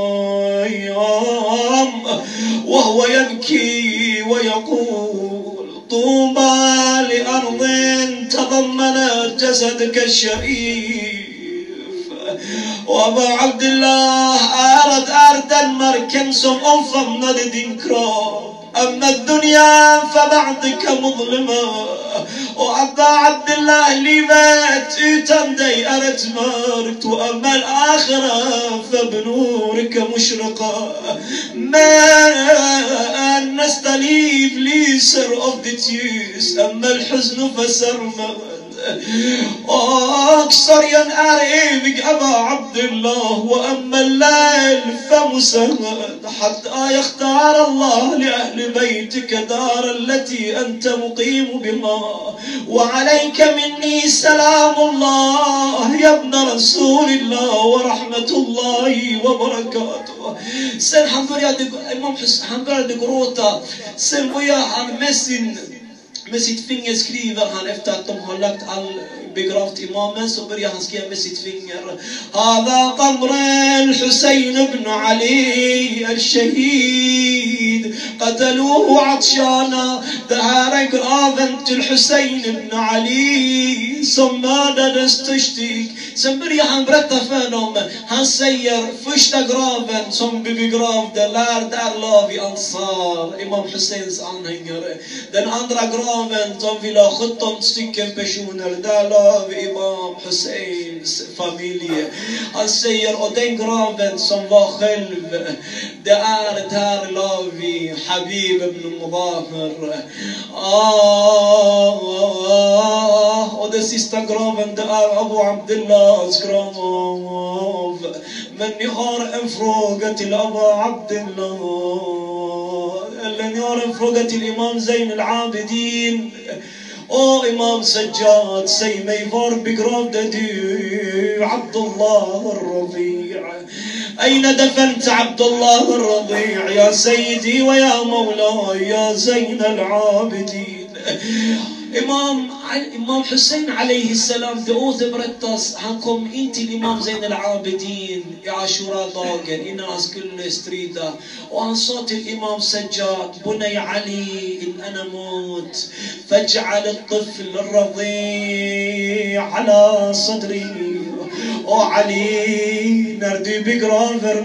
وهو يبكي ويقول طوبى لأرض تضمنت جسدك الشريف. وأبا عبد الله أرد أردا مركز أنفضنا لدنكرا. أما الدنيا فبعدك مظلمة. وأبا عبد الله لمات يتندي أرت مارت. وأما الآخرة فبنورك مشرقة. ما نستليف ليسر of the tears. أما الحزن فسرمد. أكثر ينقر إيبك أبا عبد الله. وأما الليل فمسهد. حتى يختار الله لأهل بيتك دار التي أنت مقيم بها. وعليك مني سلام الله يا ابن رسول الله ورحمة الله وبركاته. Sen han började, Imam Hussein, han började gråta. Sen började han med sin Med sitt finger skriver han, efter att de har lagt all begravt imamen, så börjar han skriva med sitt finger. Hada qabr al-Husayn ibn Ali al-Shahid qataluhu atshana. Det här är graven till Hussein ibn Ali som mördades törstig. Sen börjar han berätta för dem. Han säger, första graven som vi begravde, lär där la vi Ansar, Imam Husseins anhängare. Den andra graven som vi la sjutton stycken personer, där la vi Imam Husseins familj. Han säger, och den graven som var själv, det är där la vi Habib ibn Mudahir. Ah, och den sista graven, det är Abu Abdillahs grav. Men ni har en fråga till Abu Abdillah, eller ni har en fråga till Imam Zain al-Abidin. Åh Imam Sajjad, säg mig, var begravde du Abdullah al-Rabi'? أين دفنت عبد الله الرضيع يا سيدي ويا مولاي يا زين العابدين. Imam, Imam Hussein alaihi salam, det återberättas, han kom in till Imam Zain al-Abidin i Ashura-dagen innan han skulle strida. Och han sa till Imam Sajjad, Bunay Ali, in ana mut, faj'al al-tifl al-radi' ala sadri. Och Ali, när du begraver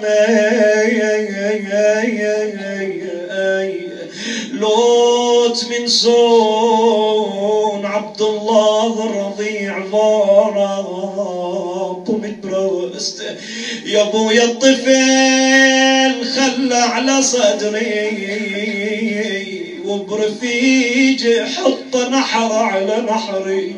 mig, låt min son Abdullah al-Radi' vara på mitt bröst. يا ابويا الطفل خلى على صدري وبرفيج حط نحر على نحري.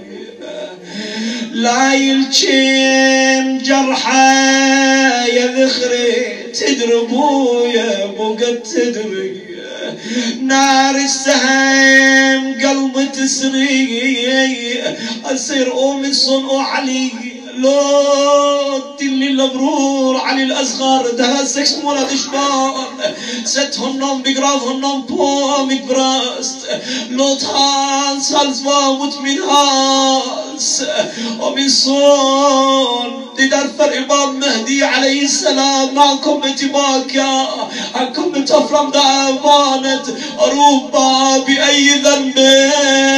لا يلجم جرحه يا ذخري تدربو يا ابو قد تدري. نار السهم قلبي تسري. أصير أم صنع علي لو تلي البرور علي الأصغر ده سكس مولد شبان ستهنم بقرافهنم بومي براست لو تان سالزوا متمن هاس ومن صون تدرفر إمام مهدي عليه السلام معكم اتباكا عنكم تفرم دعوانت أروبا بأي ذنب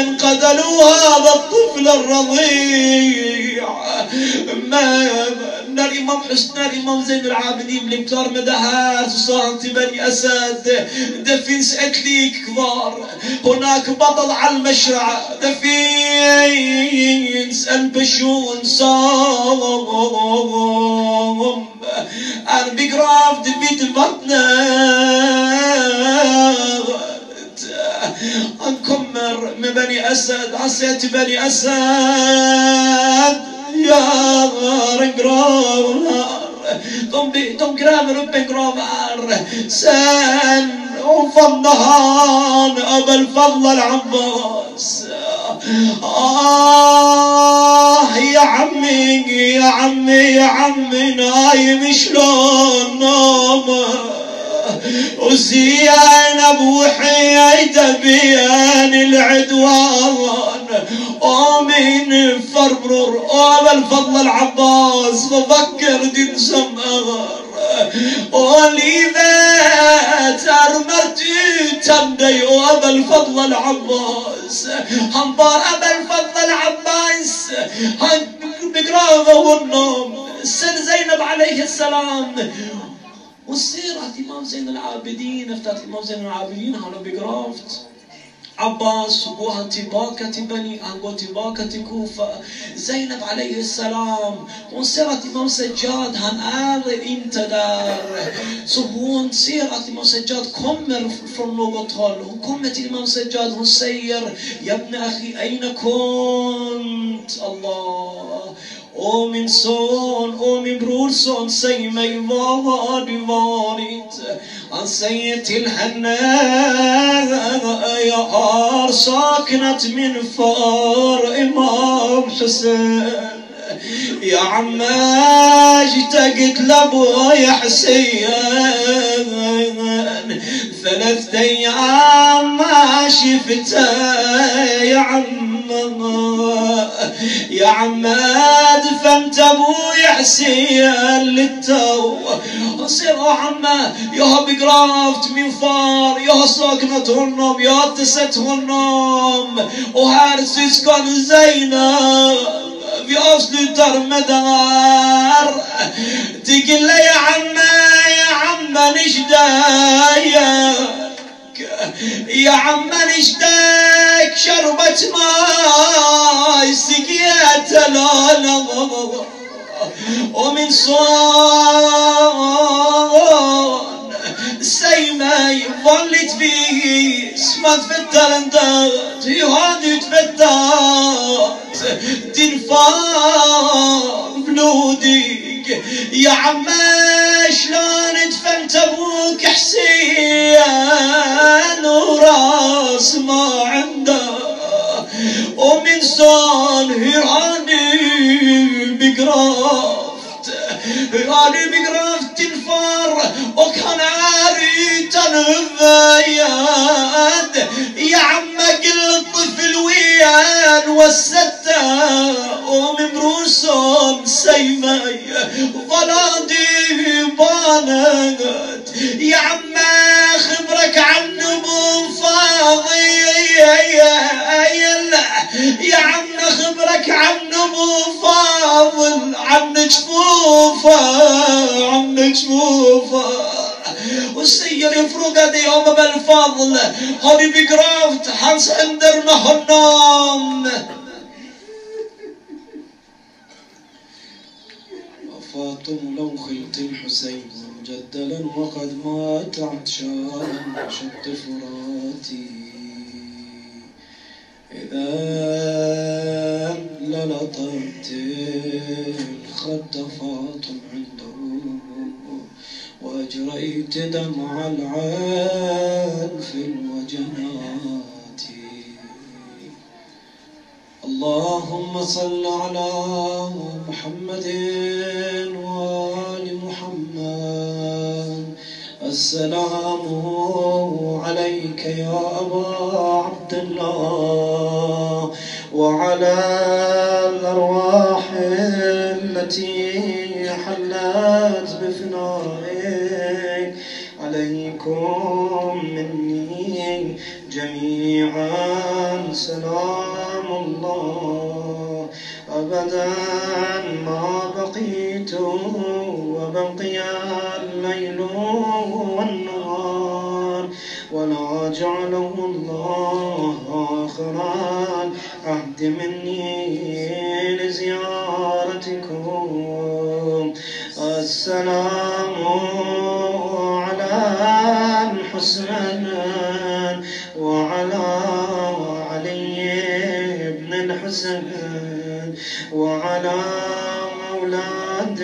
قتلوا هذا الطفل الرضيع. ما الإمام حسن الإمام زين العابدين بلمتار مدهات وصانت بني أسد دفين سأتليك كبار هناك بطل على المشرع دفين سأل بشون صام أنا بقراف دبيت بطنه أنكمر من بني أسد عسيت بني أسد يا رنقرار دم دم قرامر بقرامر سن وفضهان أبا الفضل العباس آه يا عمي يا عمي يا عمي نايم شلون نوم وزينب وحيدة بين العدوان ومن فربرر أبا الفضل العباس بفكر دين سمغر ولذا ترمرت تبدي أبا الفضل العباس حنبار أبا الفضل العباس بقراغه والنوم سن زينب عليه السلام والسيرة إمام زين العابدين افتات إمام زين العابدين هلو بقرافت عباس وبوها تباكة بني أنقو تباكة كوفة زينب عليه السلام وسيرة إمام سجاد هن آذر انت دار صبون سيرة إمام سجاد كمر فرنو بطل وكمت إمام سجاد هسير يا ابن أخي أين كنت الله ومن صون ومن برور صون سيمي وادي واريت عن سيد الحنان يا هار ساكنت من فار إمام حسين يا عماج تقت لابويا حسين ثلاثة أيام ما شفته يا عم يا عماد فهمت ابوي حسين للتو صير عمه يا بقرافت من فار يا ساكنة النوم يا تست النوم وهارس يسكن زينب في أصل ترمدار تقول لي يا عمه يا عمه نشدايك يا عمه نشداك شربت ماي سقيت لا لا ومن صون سيمي ظلت فيه اسمه تفتر اندات يهادي تفترت تنفار بلودك يا عمه شلون دفنت ابوك حسين وراس ما عنده ومن صون هيراني بقرافت هيراني بقرافت تنفار وكان عاري تنفياد يا عمه قل طفل ويان والستة ومن بروسهم سيمي ظلادي بانت يا عمه خبرك عن ابو فاضي يا عم خبرك عن ابو فاضل عن جفوفه عن جفوفه والسير يفرق يوم بالفضل هذي بقرافت حنس اندرنا النوم وفاطم لو خلت الحسين مجدلا وقد مات عطشانا شط فراتي إذا للطمت الخد فاطم عنده وأجريت دمع العين في الوجنات اللهم صل على محمد وآل محمد السلام عليك يا أبا عبد الله وعلى الأرواح التي حلت بفنائك عليكم مني جميعا سلام الله أبدا ما بقيت وبقي الليل والنهار ولا جعله الله آخر العهد مني لزيارتكم. السلام على الحسين وعلى علي بن الحسين وعلى أولاد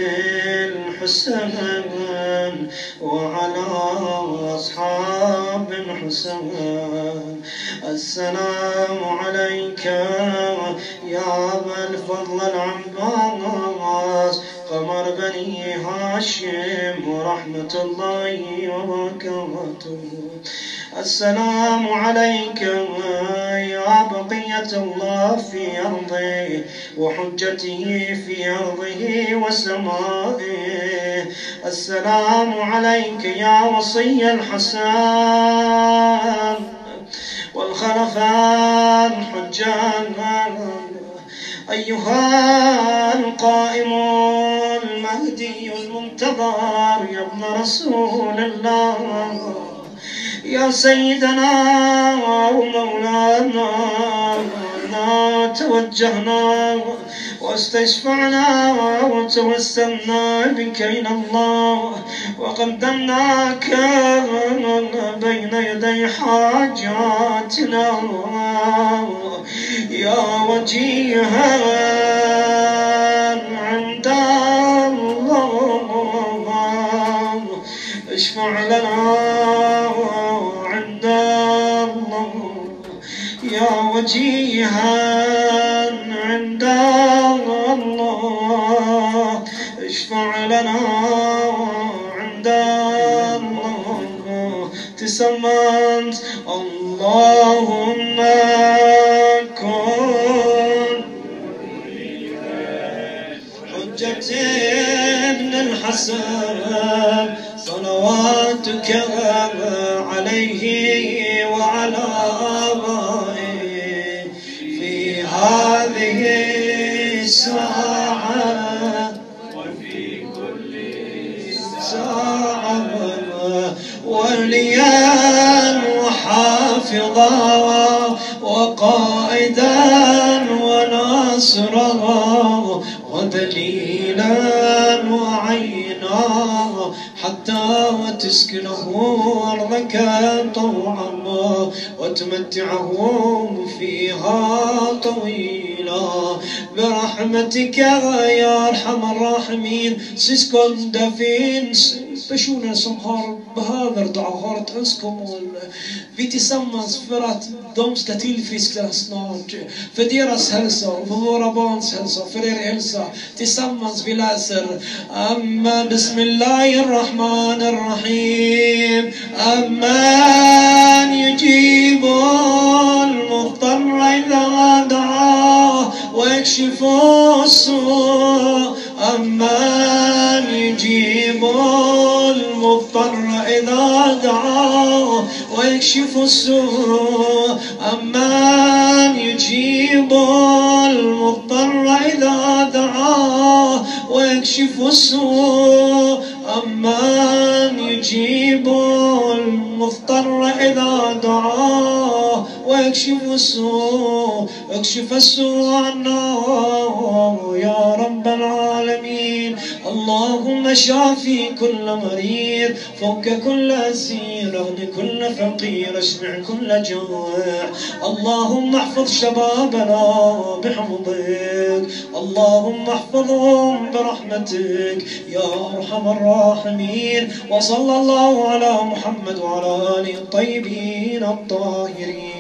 الحسين وعلى أصحاب الحسين. السلام عليك يا أبا الفضل العباس قمر بني هاشم ورحمة الله وبركاته. السلام عليك يا بقية الله في أرضه وحجته في أرضه وسمائه. السلام عليك يا وصي الحسن والخلفاء الحجان أيها القائم المهدي المنتظر يا ابن رسول الله يا سيدنا ومولانا توجهنا واستشفعنا وتوسلنا بك إلى الله وقدمناك بين يدي حاجاتنا يا وجيها عند الله اشفع لنا عند الله يا وجيها عند الله اشفع لنا عند الله. تسمنت اللهم كن حجة ابن الحسن صلواتك عليه وعلى آبائه في هذه الساعة وفي كل ساعة وليا وحافظا وقائدا وناصرا ودليلا وعينا حتى تسكنه أرضك طوعا وتمتعه فيها طويلا برحمتك يا أرحم الراحمين. Syskon, det finns personer som har behöver dua, har ett önskemål. Vi tillsammans för att de ska tillfriskna snart. För deras hälsa, för våra barns hälsa, för er hälsa. Tillsammans vi läser Amma Bismillahirrahmanirrahim. Amman yujibul muhtarra idha da'a wa yakshifu as-su'. Amman yujibul muhtarra idha da'a wa yakshifu as-su'. Amman yujibul muhtarra idha da'a wa yakshifu as-su'. أمن يجيب المضطر إذا دعاه ويكشف السوء اكشف السوء عنا يا رب العالمين. اللهم شافي كل مريض فك كل أسير اغني كل فقير اشبع كل جوع. اللهم احفظ شبابنا بحفظك اللهم احفظهم برحمتك يا أرحم الراحمين. وصلى الله على محمد وعلى آله الطيبين الطاهرين.